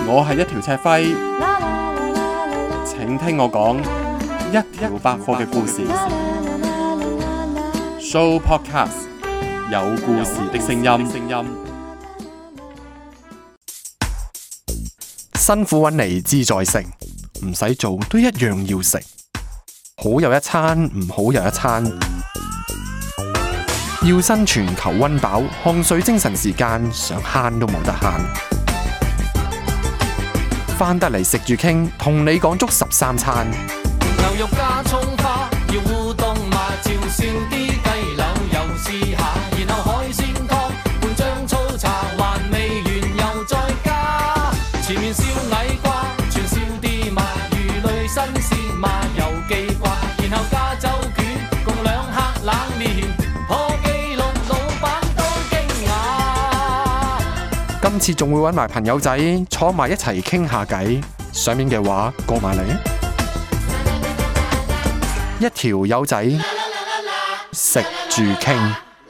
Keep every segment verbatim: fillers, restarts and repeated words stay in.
我係一條赤輝，請聽我講一條百貨嘅故事。Show Podcast 有故事的聲音。辛苦揾嚟志在食，唔使做都一樣要食。好有一餐，唔好有一餐。要生存求溫飽，汗水精神時間，想慳都冇得慳。返得嚟食住傾，同你講足十三餐。 牛肉加葱花，要烏冬嘛，照燒啲雞柳又試下，然後海鮮湯半張粗茶，還未完又再加。前面燒矮瓜，全燒啲嘛，魚類新鮮嘛又記掛，然後加州卷共兩客冷麵，破紀錄老闆都驚訝。 今次仲會揾埋朋友仔坐埋一齊傾下偈，上面嘅話過埋嚟。一條友仔食住傾。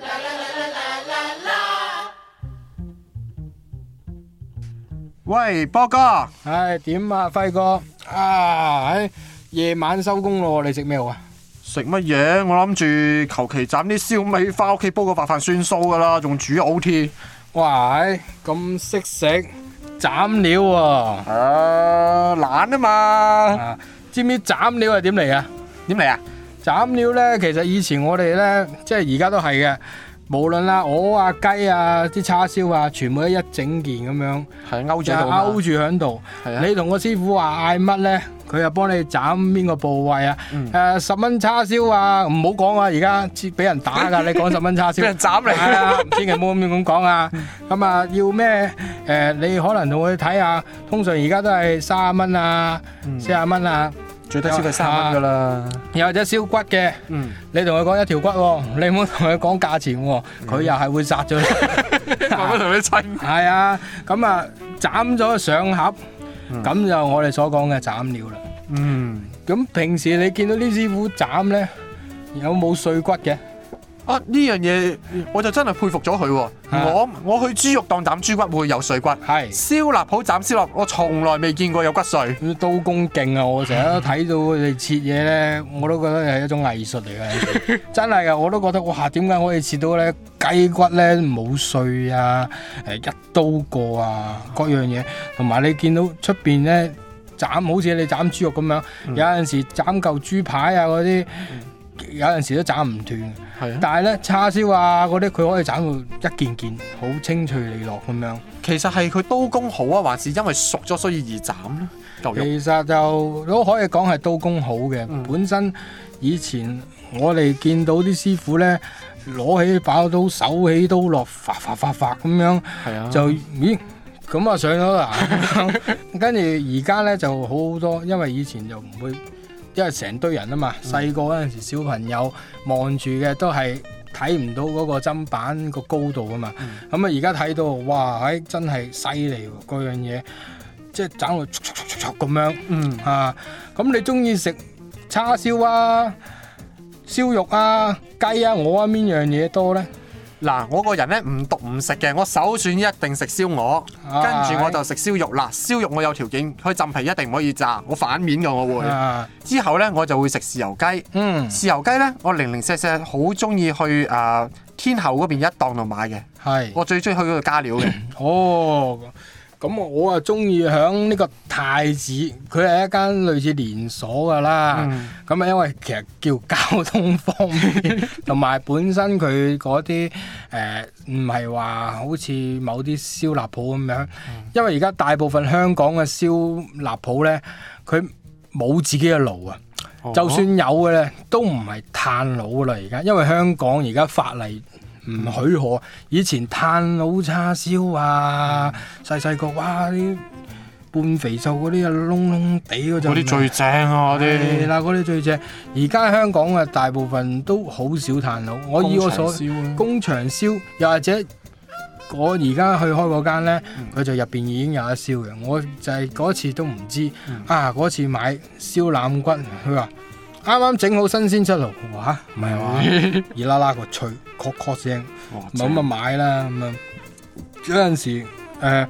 喂，波哥， 唉，點啊，輝哥啊，喺夜晚收工咯，你食咩好啊？ 食乜嘢？我諗住求其斬啲燒味翻屋企煲個白飯算數噶啦，仲煮 O T。 哇，咁識食斬料喎！ 啊，懶啊嘛。 啊，知唔知斬料係點嚟啊？ 點嚟啊？ 斬料呢，其實以前我哋呢，即係而家都係嘅，無論啊鵝啊雞啊啲叉燒啊，全部都一整件咁樣， 係勾住就勾住喺度。你同個師傅話嗌乜呢？佢又幫你斬邊個部位啊？誒、 嗯呃、十蚊叉燒啊，唔好講啊！而家俾人打㗎，你講十蚊叉燒， 俾人斬嚟啊！千祈唔好咁樣咁講啊！咁啊，要咩？誒、呃，你可能同佢睇下，通常而家都係三十蚊啊，四十蚊啊。 最低消費三蚊噶啦， 又或者燒骨嘅， 嗯、 你同佢講一條骨喎，你唔好同佢講價錢喎，佢、嗯、又係會殺咗你。 慢慢同你稱。 係啊，咁啊斬咗上盒，咁、嗯、就我哋所講嘅斬料啦。 嗯， 咁平時你見到啲師傅斬咧，有冇碎骨嘅？ 啊，呢樣嘢我就真係佩服咗佢喎。 啊、 我我去豬肉檔斬豬骨會有碎骨， 係燒臘鋪斬燒臘，我從來未見過有骨碎。 刀工勁啊！我成日都睇到佢哋切嘢咧，我都覺得係一種藝術嚟嘅。真係㗎，我都覺得哇！點解可以切到咧雞骨咧冇碎啊？誒一刀過啊，各樣嘢。同埋你見到出邊咧斬，好似你斬豬肉咁樣，嗯、有陣時斬嚿豬排啊嗰啲。嗯有陣時都斬唔斷， 啊、 但係咧叉燒啊嗰啲佢可以斬到一件件好清脆利落咁樣。 其實係佢刀工好啊，還是因為熟咗所以易斬咧？ 其實就都可以講係刀工好嘅。嗯、本身以前我哋見到啲師傅咧攞起把刀手起刀落，發發發發咁樣， 啊、 就咦咁啊上咗啦。跟住而家咧就好好多，因為以前就唔會。因為成堆人啊嘛，細個嗰陣時小朋友望住嘅都係睇唔到嗰個砧板個高度啊嘛，咁啊而家睇到哇，唉真係犀利喎，嗰樣嘢即係斬到速速速速咁樣，嗯啊，咁你中意食叉燒啊、燒肉啊、雞啊，我啊邊樣嘢多咧？ 嗱，我個人咧唔獨唔食嘅，我首選一定食燒鵝， 啊、 跟住我就食燒肉。嗱，燒肉我有條件，佢浸皮一定唔可以炸，我反面嘅我會。啊、之後咧我就會食豉油雞。嗯，豉油雞咧我零零舍舍好中意去誒、呃、天后嗰邊一檔度買嘅。係是，我最中意去嗰度加料嘅。 哦。咁我啊中意響呢個太子，佢係一間類似連鎖噶啦。咁啊、嗯，因為其實叫交通方便，同埋本身佢嗰啲誒唔係話好似某啲燒臘鋪咁樣。嗯、因為而家大部分香港嘅燒臘鋪咧，佢冇自己嘅爐啊。哦、就算有嘅咧，都唔係炭爐啦。而家因為香港而家法例唔許可，以前炭爐叉燒啊，細細個哇啲半肥瘦嗰啲啊，燶燶地嗰陣，嗰啲最正啊！嗰啲係啦，嗰啲最正。而家香港嘅大部分都好少炭爐，我以我所工場燒，又或者我而家去開嗰間咧，佢、嗯、就入邊已經有得燒嘅。我就係嗰次都唔知、嗯、啊，嗰次買燒腩骨，佢話啱啱整好新鮮出爐，哇唔係話熱啦啦個脆，確確聲，咁啊買啦咁啊。有陣時誒、呃，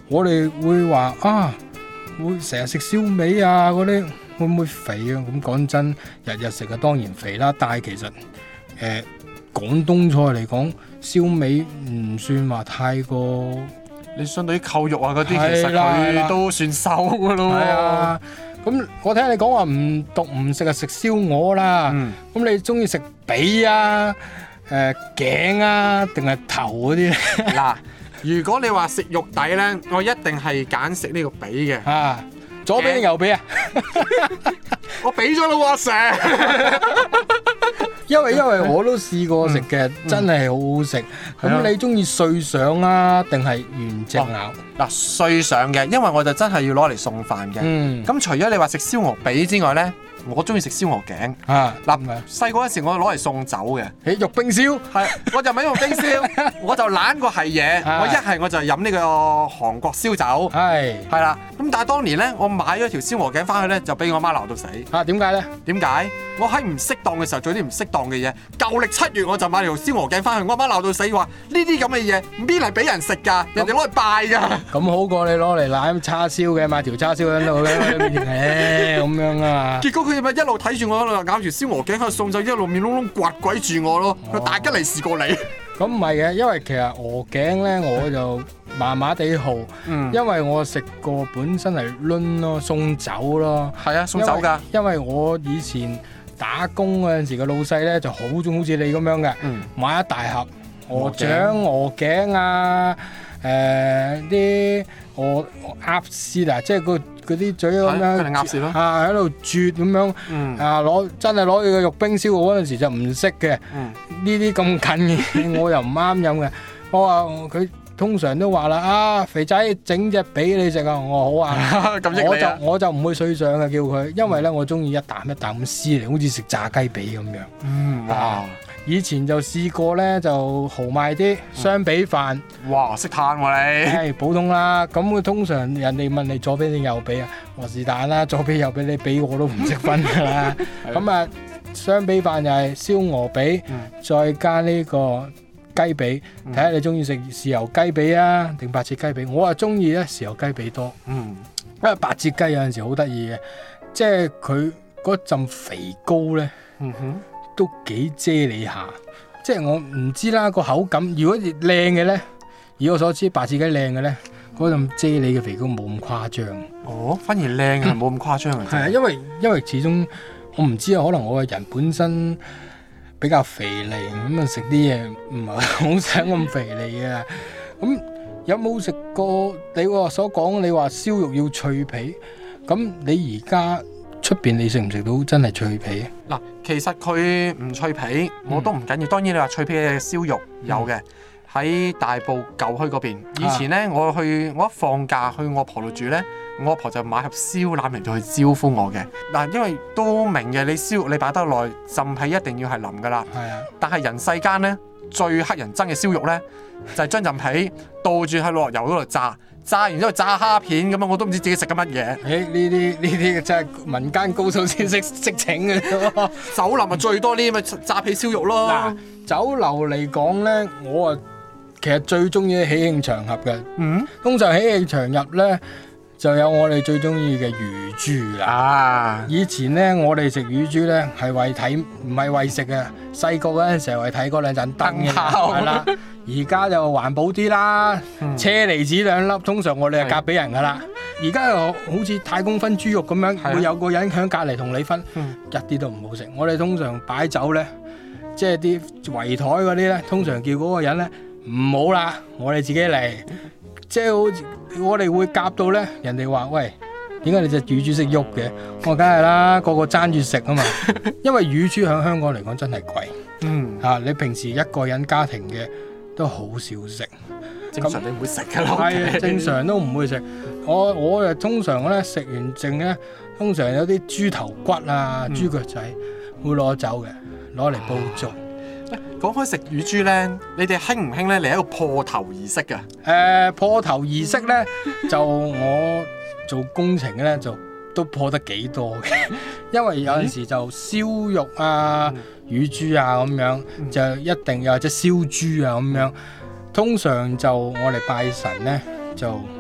我哋會話啊，會成日食燒味啊嗰啲，會唔會肥啊？咁講真，日日食啊當然肥啦。但係其實誒、呃、廣東菜嚟講，燒味唔算話太過。 你相對於扣肉啊嗰啲，其實佢都算瘦噶咯。 係啊，咁我聽你講話唔獨唔食啊，食燒鵝啦。咁、嗯、你中意食髀啊、誒、呃、頸啊，定係頭嗰啲咧？ 嗱，如果你話食肉底咧，我一定係揀食呢個髀嘅。 啊，左髀定右髀啊？ 我俾咗啦，成。 因為因為我都試過食嘅，嗯、真係好好食。咁、嗯、你中意碎上啊，定係原隻咬？ 嗱、哦，碎上嘅，因為我就真係要攞嚟送飯嘅。咁、嗯、除咗你話食燒鵝髀之外咧，我中意食燒鵝頸。啊，嗱，細個嗰時我攞嚟送酒嘅。誒，肉冰燒？係，我就唔係用冰燒，我就懶過係嘢。我一係我就飲呢個韓國燒酒。係，係啦。咁但係當年咧，我買咗條燒鵝頸翻去咧，就俾我媽鬧到死。啊，點解咧？點解？我喺唔適當嘅時候做啲唔適當嘅嘢。舊歷七月我就買條燒鵝頸翻去，我媽鬧到死，話呢啲咁嘅嘢邊嚟俾人食㗎？人哋攞嚟拜㗎。咁好過你攞嚟攬叉燒嘅，買條叉燒喺度咧，誒咁樣啊。結果佢咪一路睇住我喺度咬住燒鵝頸喺度送酒，一路面窿窿刮鬼住我咯。佢、哦、大吉利是過你。咁唔係嘅，因為其實鵝頸咧我就麻麻地好，嗯、因為我食過本身係攆咯，送酒咯。係啊，送酒㗎。因為我以前打工嗰陣時嘅老細咧就好中好似你咁樣嘅，嗯、買一大盒鵝掌、鵝頸啊，誒啲鵝鴨絲啊，即係個嗰啲嘴咁樣，鴨絲咯，啊喺度啜咁樣，嗯、啊攞真係攞佢個肉冰燒嗰陣時就唔識嘅，呢啲咁近嘅我又唔啱飲嘅，我話佢。通常都話啦，啊肥仔整隻俾你食啊，我好啊，咁益你啊，我就我就唔會碎上嘅叫佢，因為咧我中意一啖一啖咁撕嚟，好似食炸雞髀咁樣。嗯，哇！啊、以前就試過咧，就豪邁啲雙髀飯。哇！識嘆喎你。係普通啦，咁佢通常人哋問你左髀定右髀啊，我是但啦，左髀右髀你俾我都唔識分㗎啦。咁啊，雙髀飯就係燒鵝髀，嗯、再加呢、呢個。雞髀，睇下你中意食豉油雞髀啊，定白切雞髀？我啊中意咧豉油雞髀多，嗯，因為白切雞有陣時好得意嘅，即係佢嗰陣肥膏咧，嗯哼，都幾啫喱下，即係我唔知啦個口感。如果靚嘅咧，以我所知白切雞靚嘅咧，嗰陣啫喱嘅肥膏冇咁誇張。哦，反而靚係冇咁誇張啊？係啊、嗯，因為因為始終我唔知啊，可能我個人本身。比較肥膩咁啊，食啲嘢唔係好想咁肥膩啊。咁有冇食過你話所講？你話燒肉要脆皮，咁你而家出邊你食唔食到真係脆皮？嗱，其實佢唔脆皮我都唔緊要。嗯、當然你話脆皮嘅燒肉有嘅，喺、嗯、大埔舊墟嗰邊。以前咧，啊、我去我一放假去我婆度住咧。我阿婆就買盒燒腩嚟到去招呼我嘅。嗱，因為都明嘅，你燒肉你擺得耐，浸皮一定要係腍噶啦。係啊。但係人世間咧最乞人憎嘅燒肉咧，就係將浸皮倒住喺落油嗰度炸，炸完之後炸蝦片咁樣，我都唔知自己食緊乜嘢。誒、欸，呢啲呢啲真係民間高手先識識整嘅啫。酒樓咪最多呢啲咪炸皮燒肉咯。嗱，酒樓嚟講咧，我啊其實最中意喜慶場合嘅。嗯。通常喜慶場合咧。就有我哋最中意嘅乳豬啦！啊、以前咧，我哋食乳豬咧係為睇，唔係為食嘅。細個嗰陣時係為睇嗰兩盞燈嘅，係啦。而家就環保啲啦，嗯、車厘子兩粒，通常我哋係夾俾人噶啦。而家又好似太公分豬肉咁樣，的會有個人喺隔離同你分，嗯、一啲都唔好食。我哋通常擺酒咧，即係啲圍台嗰啲咧，通常叫嗰個人咧唔好啦，我哋自己嚟。即係好似我哋會夾到咧，人哋話喂，點解你隻乳豬識喐嘅？我梗係啦，個個爭住食啊嘛。因為乳豬喺香港嚟講真係貴。嗯，嚇、啊、你平時一個人家庭嘅都好少食。正常你唔會食㗎咯。係正常都唔會食。我我誒通常咧食完剩咧，通常有啲豬頭骨啊、嗯、豬腳仔會攞走嘅，攞嚟煲粥。講開食乳豬咧，你哋興唔興咧？嚟一個破頭儀式嘅。誒、呃，破頭儀式咧，就我做工程咧，就都破得幾多嘅。因為有陣時就燒肉啊、嗯、乳豬啊咁樣，嗯、就一定又或者燒豬啊咁樣。通常就我哋拜神咧，就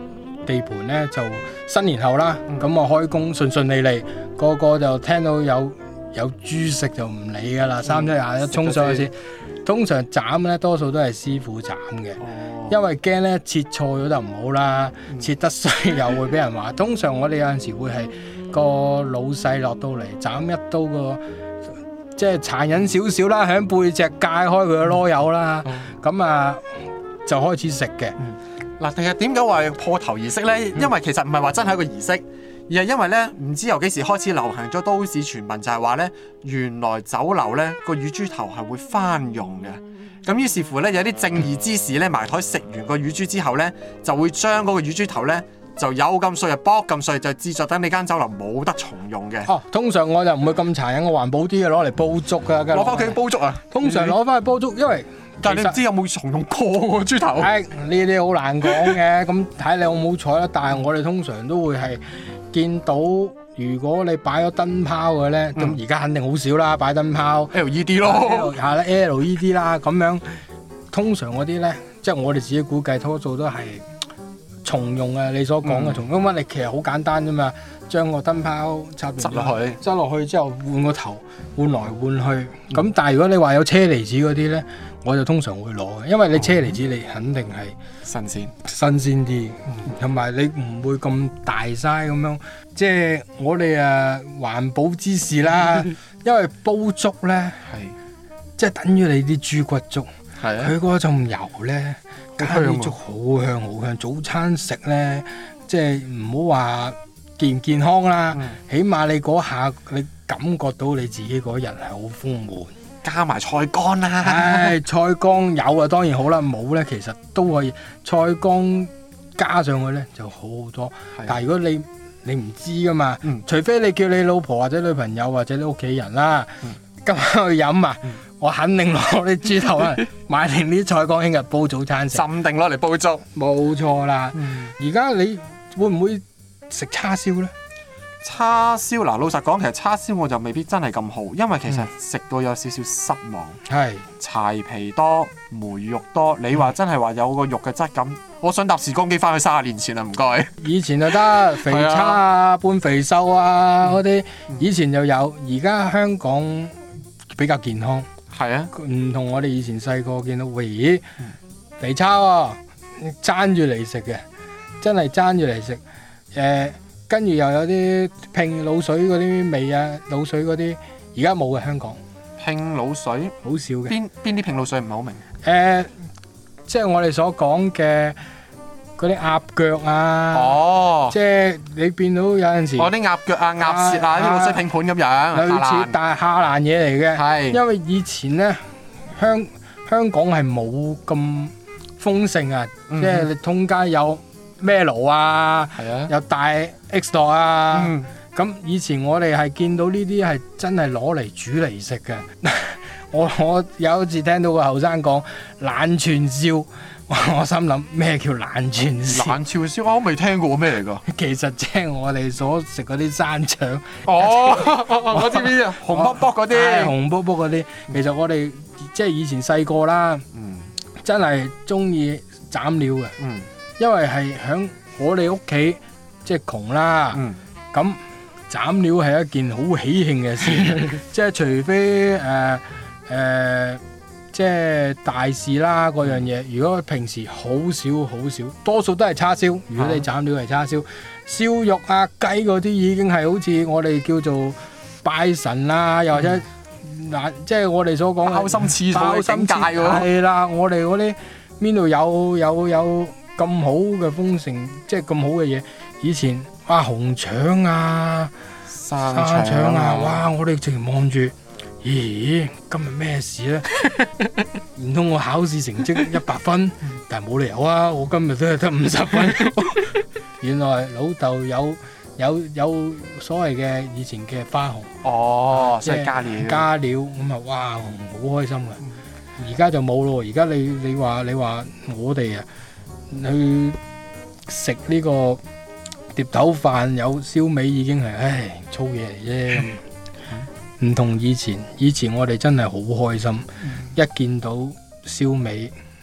地盤咧就新年後啦，咁啊、嗯、開工順順利利，個個就聽到有有豬食就唔理噶啦，三七廿一衝上去先。通常斬咧多數都係師傅斬嘅，哦、因為驚咧切錯咗就唔好啦，嗯、切得衰又會俾人話。通常我哋有陣時會係個老細落到嚟斬一刀個，即係殘忍少少啦，喺背脊解開佢個囉柚啦，咁、嗯、啊就開始食嘅。 嗱、嗯，其實點解話破頭儀式咧？因為其實唔係話真係一個儀式。而係因為咧，唔知由幾時開始流行咗都市傳聞，就係話咧，原來酒樓咧個乳豬頭係會翻用嘅。咁於是乎咧，有啲正義之士咧埋台食完個乳豬之後咧，就會將嗰個乳豬頭咧就有咁碎就剝咁碎，就製作等你間酒樓冇得重用嘅。哦， 通常我就唔會咁殘忍，我環保啲嘅攞嚟煲粥㗎。 攞翻屋企煲粥啊！ 通常攞翻去煲粥，因為但係你唔知有冇重用過個豬頭。 誒，呢啲好難講嘅，咁睇你有冇彩啦。但係我哋通常都會係。見到如果你擺咗燈泡嘅咧，咁而家肯定好少啦，擺燈泡 L E D 咯， 係啦 L E D 啦，咁樣通常嗰啲咧，即係我哋自己估計多數都係重用啊！你所講嘅重用，因為你其實好簡單啫嘛，將個燈泡插執落去， 執落去之後換個頭，換來換去。咁、嗯、但係如果你話有車厘子嗰啲咧，我就通常會攞嘅，因為你車厘子你肯定係新鮮新鮮啲，同埋、嗯、你唔會咁大嘥咁樣。即係我哋誒環保之士啦，因為煲粥咧係即係等於你啲豬骨粥，佢嗰陣油咧。加啲粥好香好香，早餐食咧，即係唔好話健唔健康啦，嗯、起碼你嗰下你感覺到你自己嗰日係好豐滿， 加埋菜乾啦。 唉，菜乾有啊，當然好啦，冇咧其實都可以，菜乾加上去咧就好好多。的但係如果你你唔知噶嘛，嗯、除非你叫你老婆或者女朋友或者你屋企人啦，嗯、今晚去飲啊。嗯我肯定攞啲豬頭啊，買定啲菜乾聽日煲早餐食， 浸定攞嚟煲粥， 冇錯啦。而家、嗯、你會唔會食叉燒咧？ 叉燒嗱，老實講，其實叉燒我就未必真係咁好，因為其實食到有少少失望。係、嗯、柴皮多，梅肉多。你話真係話有個肉嘅質感，我想搭時光機翻去三十年前啦，唔該。 以前就得肥叉啊、半肥瘦啊嗰啲，嗯、以前就有。而家香港比較健康。係啊，唔同我哋以前細個見到，喂，肥叉喎，爭住嚟食嘅，真係爭住嚟食。誒、呃，跟住又有啲拼滷水嗰啲味啊，滷水嗰啲，而家冇嘅香港。 拼滷水好少嘅。邊邊啲拼滷水唔係好明？誒、 呃，即係我哋所講嘅。嗰啲鴨腳啊，哦，即係你變到有陣時， 哦啲鴨腳啊、鴨舌啊，啲滷水拼盤咁樣， 類似，但係下欄嘢嚟嘅。係，因為以前咧香香港係冇咁豐盛啊，即係你通街有咩爐啊，有大 X 檔啊，咁以前我哋係見到呢啲係真係攞嚟煮嚟食嘅。我我有一次聽到個後生講冷串燒。我心諗咩叫冷串燒？ 冷串燒我都未聽過咩嚟㗎？ 其實即係我哋所食嗰啲山腸。 哦，我知邊啲紅卜卜嗰啲。 紅卜卜嗰啲，其實我哋即係以前細個啦，嗯、真係中意斬料嘅。嗯、因為係響我哋屋企即係窮啦，咁、嗯、斬料係一件好喜慶嘅事，即係除非誒誒。呃呃即係大事啦嗰樣嘢，如果平時好少好少，多數都係叉燒。如果你斬料係叉燒，燒肉啊雞嗰啲已經係好似我哋叫做拜神啦，又或者嗱，嗯、即係我哋所講嘅包心刺肚嘅境界喎。 係啦，我哋嗰啲邊度有有有咁好嘅豐盛，即係咁好嘅嘢。以前哇紅腸啊、沙腸啊，哇！我哋直情望住。咦，今日咩事咧？唔通我考試成績一百分，但係冇理由啊！我今日都係得五十分。原來老豆有有有所謂嘅以前嘅花紅。 哦，即係加料。 加料咁啊！哇，好開心噶。而家就冇咯。而家你你話你話我哋啊去食呢個碟頭飯有燒味已經係唉粗嘢嚟啫。唔、嗯、同以前，以前我哋真係好開心，嗯、一見到燒味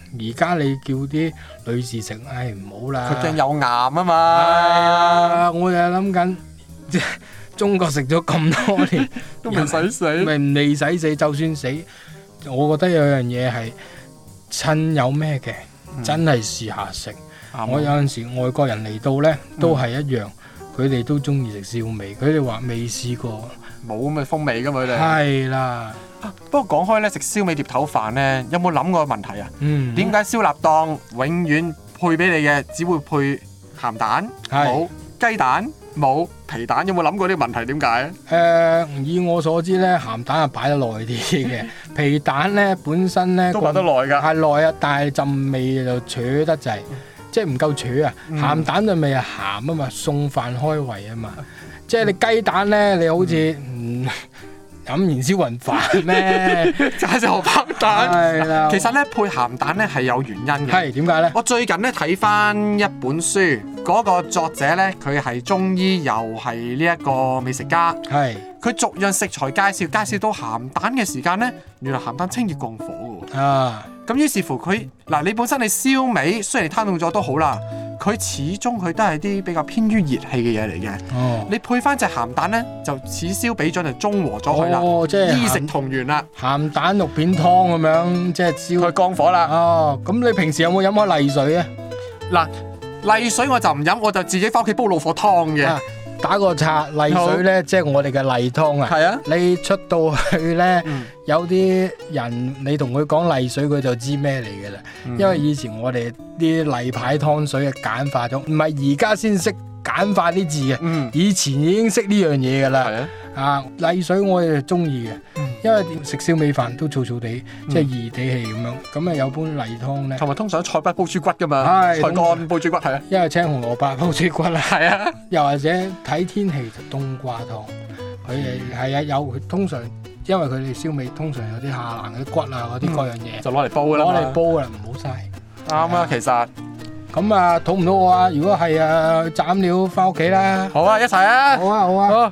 而家你叫啲女士食，唉唔好啦， 佢驚有癌啊嘛。 係啊，我又諗緊，即係中國食咗咁多年， 都未使死， 咪唔未使死，就算死，我覺得有樣嘢係趁有咩嘅， 嗯、 真係試下食。 嗯、 我有陣時外國人嚟到呢，都係一樣，佢哋、嗯、都中意食燒味，佢哋話未試過， 冇咁嘅風味噶嘛佢哋。係啦。 啊、不過講開咧，食燒味碟頭飯咧，有冇諗過個問題啊？ 嗯， 點解燒臘檔永遠配俾你嘅只會配鹹蛋，冇雞蛋，冇皮蛋？有冇諗過呢個問題？點解？誒、 呃，以我所知咧，鹹蛋係擺得耐啲嘅，皮蛋咧本身咧都擺得耐㗎， 係耐啊，但係陣味就扯得滯，即係唔夠扯啊！ 嗯、鹹蛋嘅味係鹹啊嘛，送飯開胃啊嘛，嗯、即係你雞蛋咧，你好似嗯。嗯飲燃燒雲飯咩？ 就係隻荷包蛋。 係啦， 其實咧配鹹蛋咧係有原因嘅。 係點解咧？ 我最近咧睇翻一本書，嗰、嗰個作者咧佢係中醫又係呢一個美食家。係。佢逐樣食材介紹，介紹到鹹蛋嘅時間咧，原來鹹蛋清熱降火嘅喎。啊。咁於是乎佢嗱，你本身你燒味雖然你攤凍咗都好啦。佢始終佢都係啲比較偏於熱氣嘅嘢嚟嘅。哦，你配翻隻鹹蛋咧，就此消彼長就中和咗佢啦。哦，即係醫食同源啦。鹹蛋肉片湯咁樣，即係燒佢降火啦。哦，咁你平時有冇飲開例水啊？嗱，例水我就唔飲，我就自己翻屋企煲老火湯嘅。啊，打個岔，例水咧，即係我哋嘅例湯啊。係啊。你出到去咧，嗯、有啲人你同佢講例水，佢就知咩嚟嘅啦。嗯、因為以前我哋啲例牌湯水嘅簡化咗，唔係而家先識簡化啲字嘅。嗯、以前已經識呢樣嘢噶啦。係啊。啊，例水我哋中意嘅，嗯、因為食燒味飯都燥燥地，嗯、即係熱地氣咁樣。咁啊有杯例湯咧，同埋通常菜骨煲豬骨噶嘛，菜乾煲豬骨係啊。因為青紅蘿蔔煲豬骨啦，係啊。又或者睇天氣就冬瓜湯，佢哋係啊有通常，因為佢哋燒味通常有啲下欄嗰啲骨啊嗰啲各樣嘢，就攞嚟煲啦，攞嚟煲啦，唔好嘥。啱啊，其實。咁啊，肚唔肚餓啊？如果係啊，斬料翻屋企啦。好啊，一齊啊！好啊，好啊。好。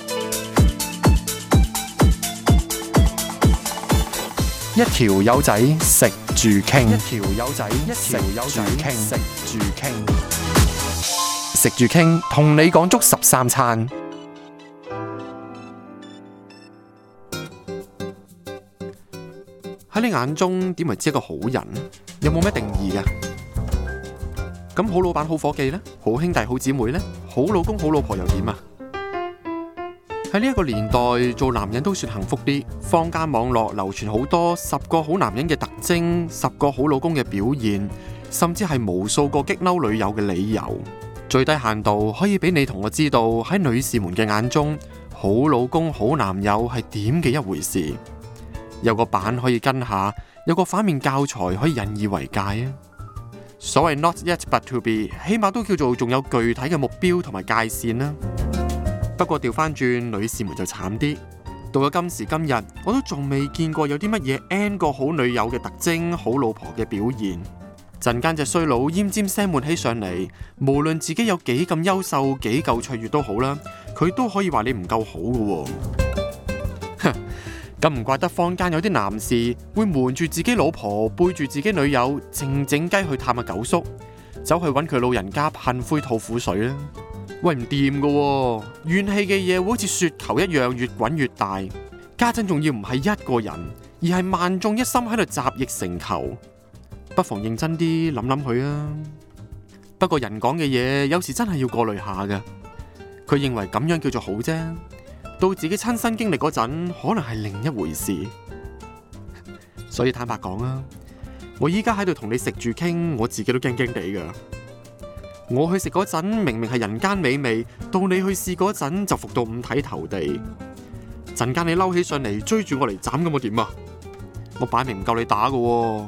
一條友仔食住傾，一條友仔食住傾，食住傾，食住傾，同你講足十三餐。喺你眼中點為之一個好人？有冇咩定義㗎？咁好老闆好伙計呢？好兄弟好姊妹呢？好老公好老婆又點啊？喺呢一個年代，做男人都算幸福啲。坊間網絡流傳好多十個好男人嘅特徵，十個好老公嘅表現，甚至係無數個激嬲女友嘅理由。最低限度可以俾你同我知道，喺女士們嘅眼中，好老公好男友係點嘅一回事。有個版可以跟下，有個反面教材可以引以為戒啊！所謂 not yet but to be， 起碼都叫做仲有具體嘅目標同埋界線啦。不過調翻轉，女士們就慘啲。到咗今時今日，我都仲未見過有啲乜嘢 N 個好女友嘅特徵，好老婆嘅表現。陣間隻衰佬奄尖聲悶起上嚟，無論自己有幾咁優秀，幾夠卓越都好啦，佢都可以話你唔夠好㗎喎。咁唔怪得坊間有啲男士會瞞住自己老婆，背住自己女友，靜靜雞去探下九叔，走去揾佢老人家噴灰吐苦水啦。喂，唔掂噶，怨氣嘅嘢會好似雪球一樣越滾越大，家陣仲要唔係一個人，而係萬眾一心喺度集腋成裘，不妨認真啲諗諗佢啊。不過人講嘅嘢有時真係要過濾下噶，佢認為咁樣叫做好啫，到自己親身經歷嗰陣，可能係另一回事。所以坦白講啊，我依家喺度同你食住傾，我自己都驚驚地噶。我去食嗰陣明明係人間美味，到你去試嗰陣就服到五體投地。陣間你嬲起上嚟追住我嚟斬咁，我點啊？我擺明唔夠你打噶喎。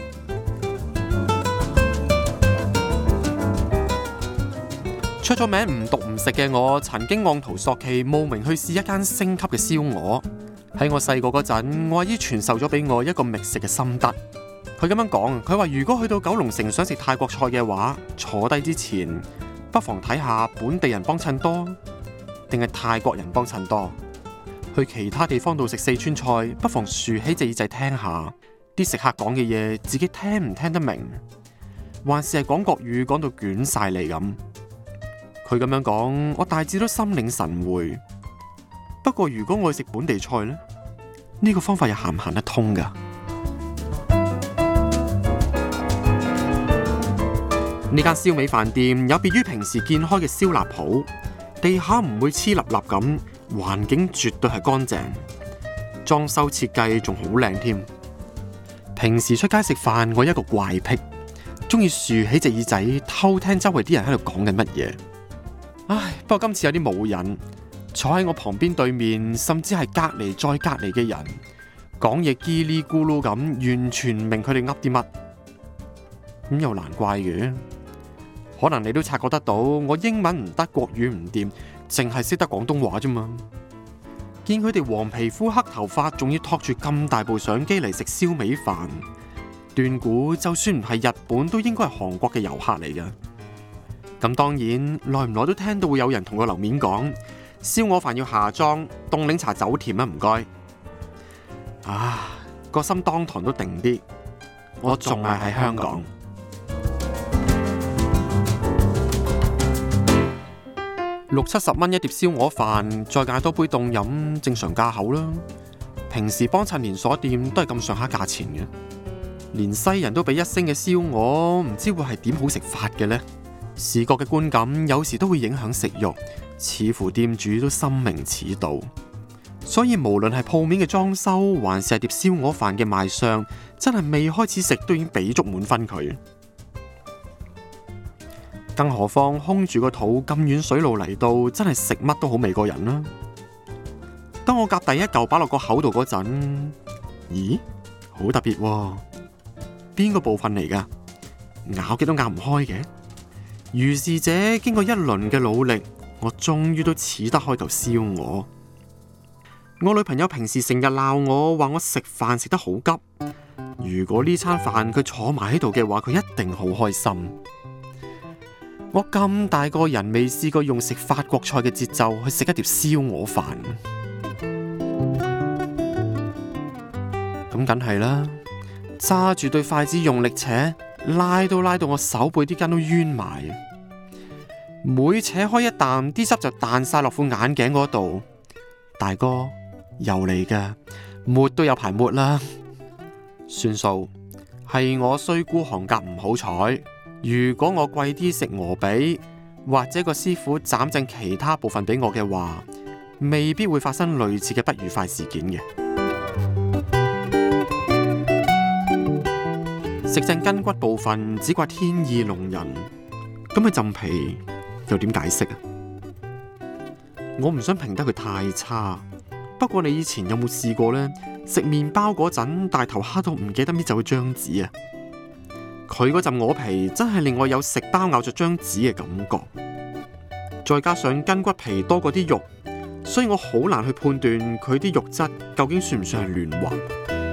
出咗名唔毒唔食嘅我，曾經按圖索驥慕名去試一間星級嘅燒鵝。喺我細個嗰陣，我阿姨傳授咗俾我一個覓食嘅心得。佢咁樣講，佢話如果去到九龍城想食泰國菜嘅話，坐低之前不妨睇下本地人幫襯多定係泰國人幫襯多。去其他地方度食四川菜，不妨豎起隻耳仔聽下， 啲食客講嘅嘢自己聽唔聽得明，還是係講國語講到捲晒嚟咁。佢咁樣講，我大致都心領神會。不過如果我去食本地菜呢，呢個方法又行唔行得通㗎？呢間燒味飯店有別於平時見開嘅燒臘鋪，地下唔會黐立立咁，環境絕對係乾淨，裝修設計仲好靚添。平時出街食飯，我有一個怪癖，中意豎起隻耳仔偷聽周圍啲人喺度講緊乜嘢。唉，不過今次有啲冇癮，坐喺我旁邊對面，甚至係隔離再隔離嘅人，講嘢嘰哩咕嚕咁，完全唔明佢哋噏啲乜。咁又難怪嘅。可能你都察覺得到，我英文唔得，國語唔掂，淨係識得廣東話啫嘛。見佢哋黃皮膚黑頭髮，仲要托住咁大部相機嚟食燒味飯，斷估就算唔係日本，都應該係韓國嘅遊客嚟㗎。咁當然，耐唔耐都聽到會有人同個樓面講，燒鵝飯要下裝，凍檸茶走甜啊，唔該。啊，個心當堂都定啲，我仲係喺香港。六七十蚊一碟燒鵝飯，再嗌多杯凍飲，正常價口啦。平時幫襯連鎖店都係咁上下價錢嘅，連西人都俾一星嘅燒鵝，唔知會係點好食法嘅呢？視覺嘅觀感有時都會影響食慾，似乎店主都深明此道。所以無論係鋪面嘅裝修，還是係碟燒鵝飯嘅賣相，真係未開始食都已經俾足滿分佢。更何況空住個肚咁遠水路嚟到，真係食乜都好味過人啦。當我夾第一嚿擺落個口度嗰陣，咦，好特別喎，邊個部分嚟㗎？咬極都咬唔開嘅。如是者經過一輪嘅努力，我終於都似得開頭燒鵝。我女朋友平時成日鬧我，話我食飯食得好急。如果呢餐飯佢坐埋喺度嘅話，佢一定好開心。我咁大個人未試過用食法國菜嘅節奏去食一碟燒鵝飯，咁梗係啦，揸住對筷子用力扯，拉都拉到我手背啲筋都冤埋，每扯開一啖，啲汁就彈晒落副眼鏡嗰度。大哥又嚟㗎，抹都有排抹啦，算數，係我衰孤寒格唔好彩。如果我貴啲食鵝髀，或者個師傅斬正其他部分俾我嘅話，未必會發生類似嘅不愉快事件嘅。食正筋骨部分，只怪天意弄人。咁佢浸皮又點解釋啊？我唔想評得佢太差，不過你以前有冇試過呢？食麵包嗰陣大頭蝦到唔記得搣走個張紙啊！佢嗰陣鵝皮真係令我有食包咬着張紙嘅感覺，再加上筋骨皮多過啲肉，所以我好難去判斷佢啲肉質究竟算唔算係嫩滑。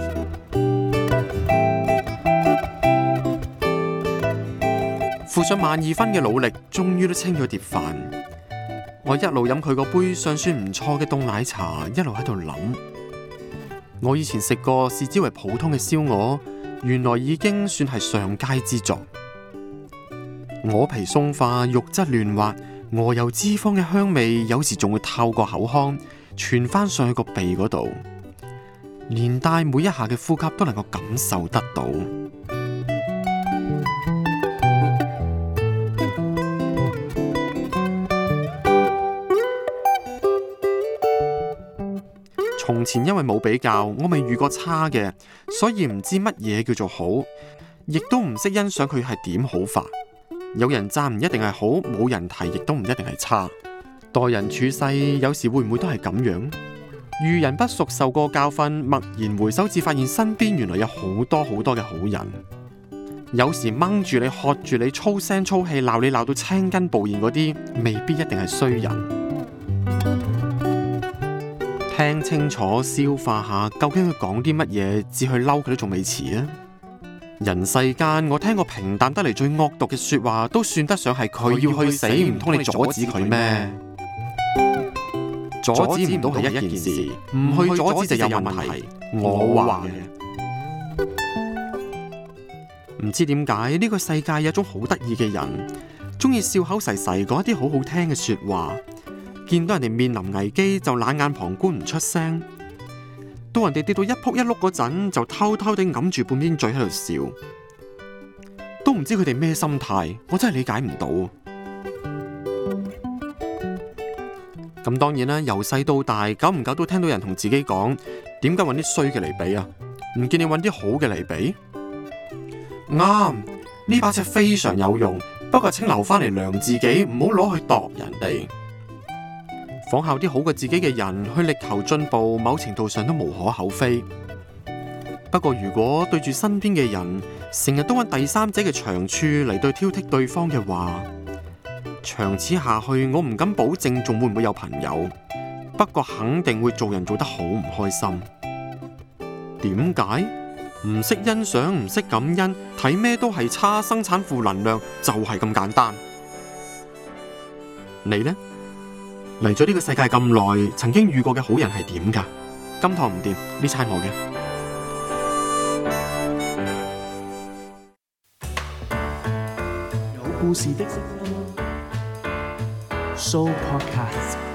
付上萬二分嘅努力，終於都清咗碟飯。我一路飲佢個杯尚算唔錯嘅凍奶茶，一路喺度諗，我以前食過視之為普通嘅燒鵝，原來已經算係上佳之作。鵝皮鬆化，肉質嫩滑，鵝油脂肪嘅香味有時仲會透過口腔傳翻上去個鼻嗰度，連帶每一下嘅呼吸都能夠感受得到。從前因為冇比較，我未遇過差嘅，所以唔知乜嘢叫做好，亦都唔識欣賞佢係點好法。有人讚唔一定係好，冇人提亦都唔一定係差。待人處世有時會唔會都係咁樣？遇人不淑，受過教訓，驀然回首，至發現身邊原來有好多好多嘅好人。有時掹住你、喝住你、粗聲粗氣鬧你鬧到青筋暴現嗰啲，未必一定係衰人。聽清楚，消化下，究竟佢講啲乜嘢，至去嬲佢都仲未遲啊！人世間，我聽過平淡得嚟最惡毒嘅說話，都算得上係佢要去死，唔通你阻止佢咩？阻止唔到係一件事，唔去阻止就有問題。我話嘅。 唔知點解呢個世界有一種好得意嘅人，中意笑口噬噬講一啲好好聽嘅說話，見到人哋面臨危機就冷眼旁觀唔出聲，到人哋跌到一仆一碌嗰陣就偷偷地揞住半邊嘴喺度笑，都唔知佢哋咩心態，我真係理解唔到。咁當然啦，由細到大，久唔久都聽到人同自己講，點解揾啲衰嘅嚟比啊？唔見你揾啲好嘅嚟比？啱，呢把尺非常有用，不過請留翻嚟量自己，唔好攞去度人哋。仿效啲好過自己嘅人去力求進步，某程度上都無可厚非。不過如果對住身邊嘅人，成日都揾第三者嘅長處嚟對挑剔對方嘅話，長此下去，我唔敢保證仲會唔會有朋友，不過肯定會做人做得好唔開心。點解？唔識欣賞，唔識感恩，睇咩都係差，生產負能量，就係咁簡單。你呢？嚟咗呢個世界咁耐，曾經遇過嘅好人係點㗎？今堂唔掂，呢餐我嘅。有故事的 Show Podcast。